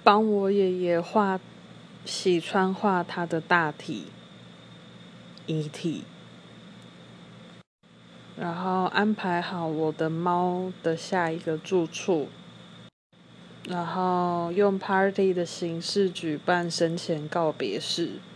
帮我爷爷洗川画他的大体遗体，然后安排好我的猫的下一个住处，然后用 party 的形式举办生前告别式。